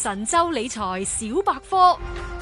神州理財小百科。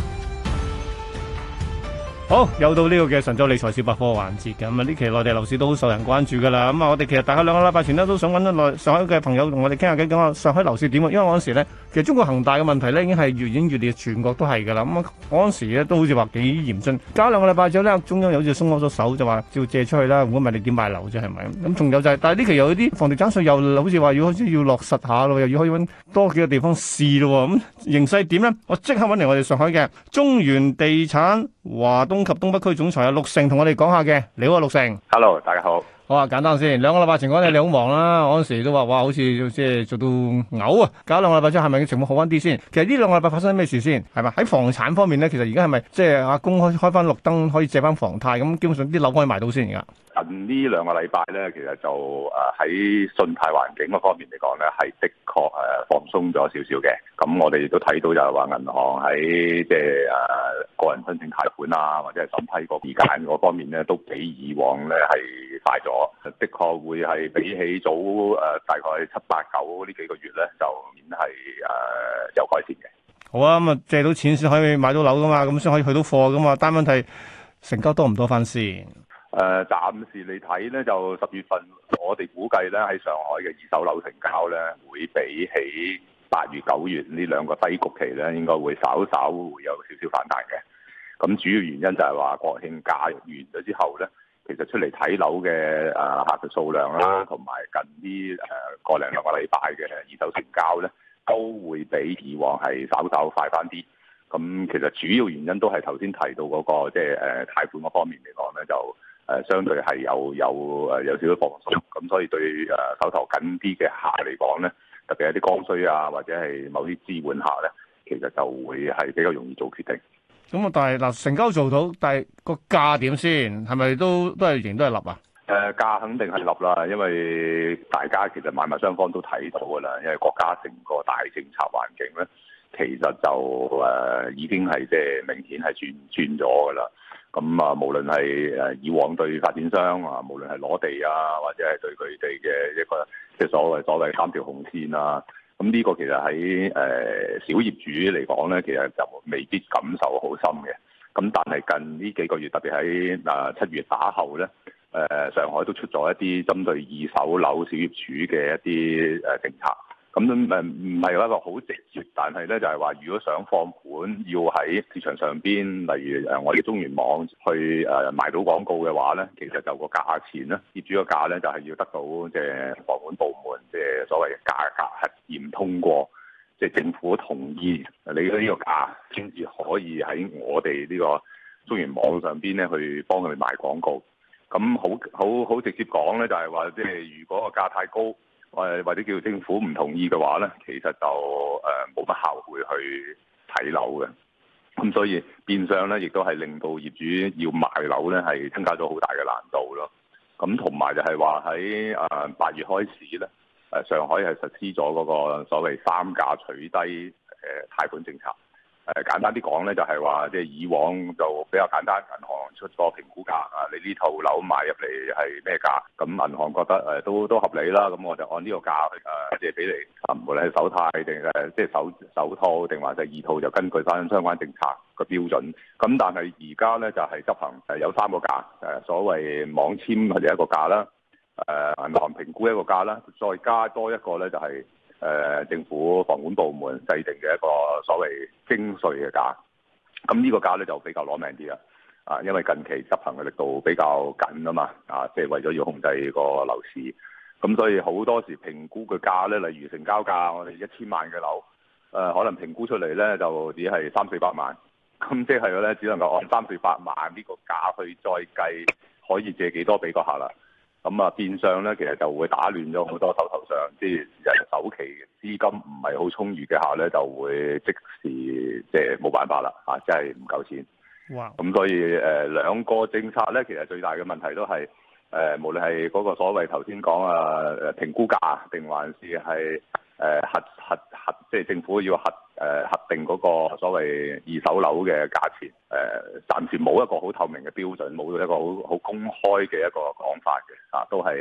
好，又到呢個嘅神州理財小百科環節嘅。咁啊，呢期內地樓市都好受人關注噶啦。咁啊，我哋其實大概2個禮拜前咧都想揾到上海嘅朋友同我哋傾下偈，講下上海樓市點啊。因為嗰陣時咧，其實中國恒大嘅問題咧已經係越演越烈，全國都係噶啦。咁啊，嗰陣時咧都好似話幾嚴峻。隔2個禮拜之後咧，中央又好似鬆開咗手，就話照借出去啦。如果唔係你點買樓啫？係咪？咁仲有就係，但係呢期又有啲房地產稅又好似話要落實下咯，又要可以揾多幾個地方試咯。咁形勢點咧？我即刻揾嚟我哋上海嘅中原地產華東及東北區總裁陸成同我哋講下嘅。你好啊，陸成。 Hello， 大家好。 好啊，簡單先。2個禮拜前講你好忙啦，嗰陣時都話哇，好似即係做到嘔啊！搞2個禮拜之後，係咪情況好翻啲先？其實呢2個禮拜發生咩事先？係咪喺房產方面咧？其實而家係咪即係阿公開翻綠燈，可以借翻房貸咁？基本上啲樓可以賣到先而家。 近呢2個禮拜咧，其實就喺信貸環境嗰方面嚟講咧，係的確放鬆咗少少嘅。咁我哋亦都睇到就係話銀行喺即係個人申請貸款啊，或者係審批個時間嗰方面咧，都比以往咧係快咗。的確會係比起早大概7、8、9呢幾個月咧，就顯係有改善嘅。 好啊，咁啊借到錢先可以買到樓噶嘛，咁先可以去到貨噶嘛。但問題成交多唔多翻先？ 暫時嚟睇咧，就10月份我哋估計咧喺上海嘅二手樓成交咧，會比起8月、9月呢2個低谷期咧，應該會稍會有少少反彈嘅。咁主要原因就係話國慶假完咗之後咧，其實出嚟睇樓嘅客嘅數量啦，同埋近呢個2個禮拜嘅二手成交咧，都會比以往係稍快翻啲。咁其實主要原因都係頭先提到嗰個即係貸款嗰方面嚟講咧，就相對係有少少放鬆，咁所以對手頭緊啲嘅客嚟講咧，特別係啲剛需啊，或者係某啲置換客咧，其實就會係比較容易做決定。 咁啊，但係嗱成交做到，但係個價點先？係咪都係仍都係立啊？ 價肯定係立啦，因為大家其實買賣雙方都睇到㗎啦，因為國家整個大政策環境咧，其實就已經係即係明顯係轉咗㗎啦。咁啊，無論係以往對發展商啊，無論係攞地啊，或者係對佢哋嘅一個即係所謂3條紅線啊，咁呢個其實喺小業主嚟講咧，其實就未必感受好深嘅。咁但係近呢幾個月，特別喺7月打後咧，上海都出咗一啲針對二手樓小業主嘅一啲政策。咁唔係一個好直接，但係咧就係話，如果想放盤要喺市場上邊，例如我哋中原網去賣到廣告嘅話咧，其實就個價錢咧，業主個價咧就係要得到即係房管部門即係所謂嘅價格核驗通過，即係政府同意你呢個價，先至可以喺我哋呢個中原網上邊咧去幫佢哋賣廣告。咁好直接講咧，就係話即係如果個價太高，或者叫政府唔同意嘅話咧，其實就冇乜效會去睇樓嘅。咁所以變相咧，亦都係令到業主要賣樓咧，係增加咗好大嘅難度咯。咁同埋就係話喺8月開始咧，上海係實施咗嗰個所謂3價取低貸款政策。簡單啲講咧，就係話即係以往就比較簡單，銀行出個評估價啊，你呢套樓買入嚟係咩價？咁銀行覺得都合理啦，咁我就按呢個價去借俾你。無論係首貸定即係首套定還是二套，就根據翻相關政策個標準。咁但係而家咧就係執行有3個價，所謂網簽佢哋一個價啦，銀行評估一個價啦，再加多一個咧就係政府房管部門制定嘅一個所謂徵稅嘅價，咁呢個價咧就比較攞命啲啦，因為近期執行嘅力度比較緊啊嘛，即係為咗要控制個樓市，咁所以好多時評估嘅價咧，例如成交價，我哋1000萬嘅樓，可能評估出嚟咧就只係300-400萬，咁即係咧只能夠按300-400萬呢個價去再計可以借幾多俾個客啦。咁啊，變相咧，其實就會打亂咗好多手頭上即係人首期資金唔係好充裕嘅客咧，就會即時即係冇辦法啦，即係唔夠錢。 哇！ 咁所以兩個政策咧，其實最大嘅問題都係無論係嗰個所謂頭先講評估價，定還是係核即係政府要核定嗰個所謂二手樓嘅價錢，暫時冇一個好透明嘅標準，冇一個好公開嘅一個講法嘅，都係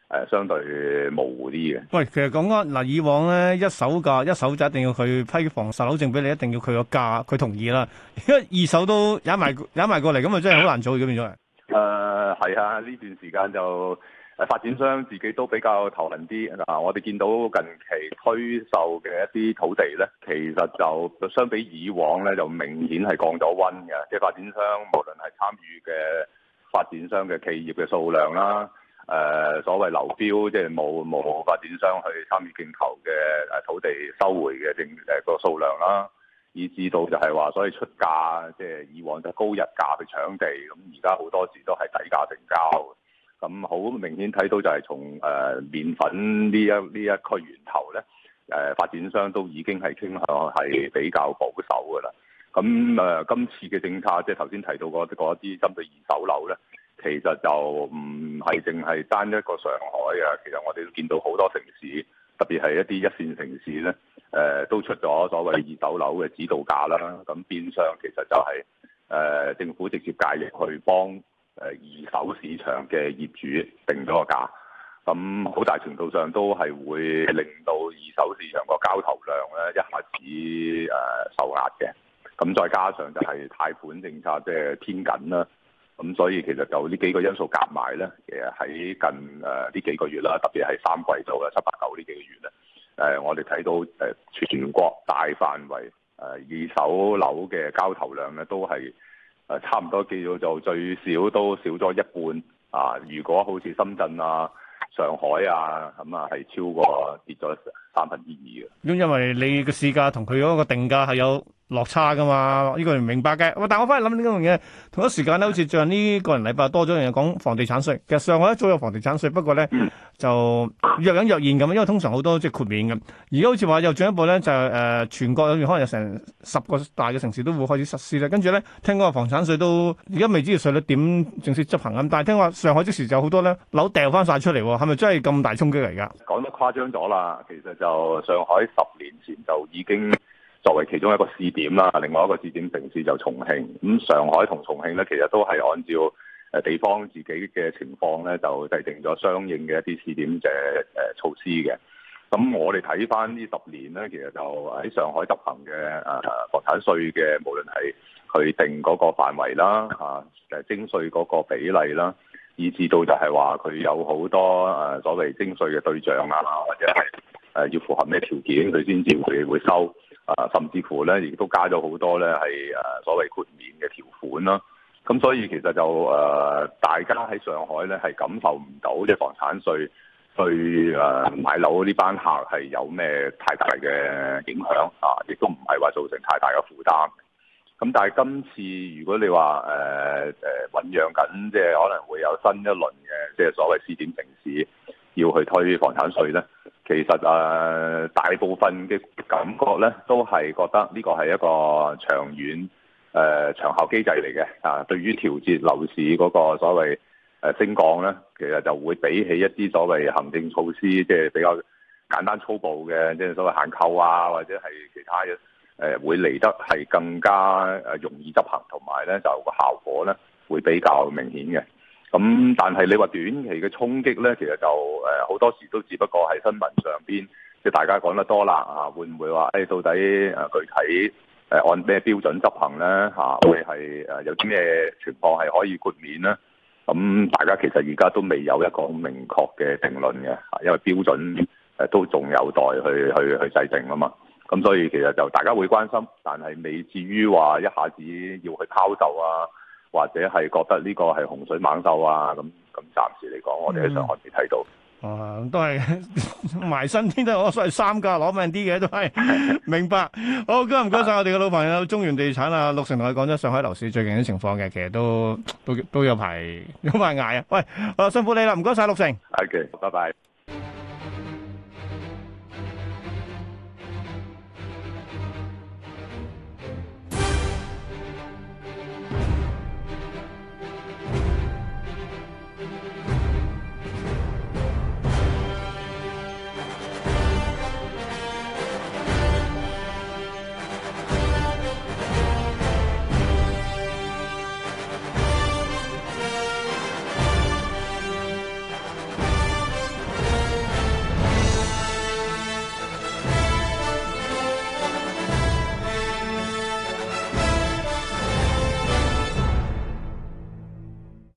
相對模糊啲嘅。 喂，其實講緊嗱，以往咧一手價一手就一定要佢批房售樓證俾你，一定要佢個價佢同意啦。因為二手都踩埋過嚟，咁啊真係好難做嘅變咗。 係啊，呢段時間就發展商自己都比較頭痕啲。嗱，我哋見到近期推售嘅一啲土地咧，其實就相比以往咧，就明顯係降咗溫嘅。即係發展商無論係參與嘅發展商嘅企業嘅數量啦。所謂流標，即係冇發展商去參與競投嘅土地收回嘅個數量啦，以至到就係話，所以出價即係以往就高日價去搶地，咁而家好多時都係低價成交。咁好明顯睇到就係從麵粉呢一區源頭咧，發展商都已經係傾向係比較保守㗎啦。咁今次嘅政策，即係頭先提到嗰啲針對二手樓咧。其實就唔係淨係單一個上海啊，其實我哋都見到好多城市，特別係一啲一線城市咧，都出咗所謂二手樓嘅指導價啦。咁變相其實就係政府直接介入去幫二手市場嘅業主定咗個價。咁好大程度上都係會令到二手市場個交投量咧一下子受壓嘅。咁再加上就係貸款政策即係偏緊啦。咁所以其實就呢幾個因素夾埋咧，其實喺近呢幾個月啦，特別係三季度啦、7、8、9呢幾個月咧，我哋睇到全國大範圍二手樓嘅交投量咧，都係差唔多叫做最少都少咗一半啊！如果好似深圳啊、上海啊咁啊，係超過跌咗2/3嘅。咁因為你嘅市價同佢嗰個定價係有落差噶嘛，呢個唔明白嘅。但我翻去諗呢樣嘢，同一時間咧，好似最近呢個人禮拜多咗樣嘢講房地產稅。其實上海一早有房地產稅，不過咧就若隱若現咁，因為通常好多即係豁免嘅。而家好似話又進一步咧，就全國裏面可能有成10個大嘅城市都會開始實施咧。跟住咧，聽講話房產稅都而家未知稅率點正式執行咁，但係聽話上海即時就好多咧樓掉翻晒出嚟，係咪真係咁大衝擊嚟㗎？ 講得誇張咗啦，其實就上海10年前就已經作為其中一個試點啦，另外一個試點城市就重慶。咁上海同重慶咧，其實都係按照地方自己嘅情況咧，就制定咗相應嘅一啲試點嘅措施嘅。咁我哋睇翻呢10年咧，其實就喺上海執行嘅房產稅嘅，無論係佢定嗰個範圍啦，徵稅嗰個比例啦，以至到就係話佢有好多所謂徵稅嘅對象啊，或者係要符合咩條件佢先至會收。甚至乎咧，亦都加咗好多咧，係所謂豁免嘅條款啦。咁所以其實就大家喺上海咧係感受唔到即係房產稅對買樓呢班客係有咩太大嘅影響啊，亦都唔係話造成太大嘅負擔。咁但係今次如果你話醖釀緊，即係可能會有新一輪嘅即係所謂試點城市要去推房產稅咧。其實大部分嘅感覺咧，都係覺得呢個係一個長遠長效機制嚟嘅啊。對於調節樓市嗰個所謂升降咧，其實就會比起一啲所謂行政措施，即係比較簡單粗暴嘅，即係所謂限購啊，或者係其他嘅會嚟得係更加容易執行，同埋咧就個效果咧會比較明顯嘅。咁但係你話短期嘅衝擊咧，其實就好多時都只不過喺新聞上邊，即係大家講得多啦啊，會唔會話到底具體按咩標準執行咧嚇？會係有啲咩情況係可以豁免咧？咁大家其實而家都未有一個明確嘅定論嘅，因為標準都仲有待去制定啊嘛。咁所以其實就大家會關心，但係未至於話一下子要去拋售啊。或者係覺得呢個係洪水猛獸啊，咁暫時嚟講，我哋喺上海未睇到。 都係埋身添，都係我所謂三價攞命啲嘅，都係明白。好，今日唔該晒我哋嘅老朋友中原地產陸成同佢講咗上海樓市最近啲情況嘅，其實都有排捱啊。喂，辛苦你啦，唔該晒陸成。 OK，拜拜。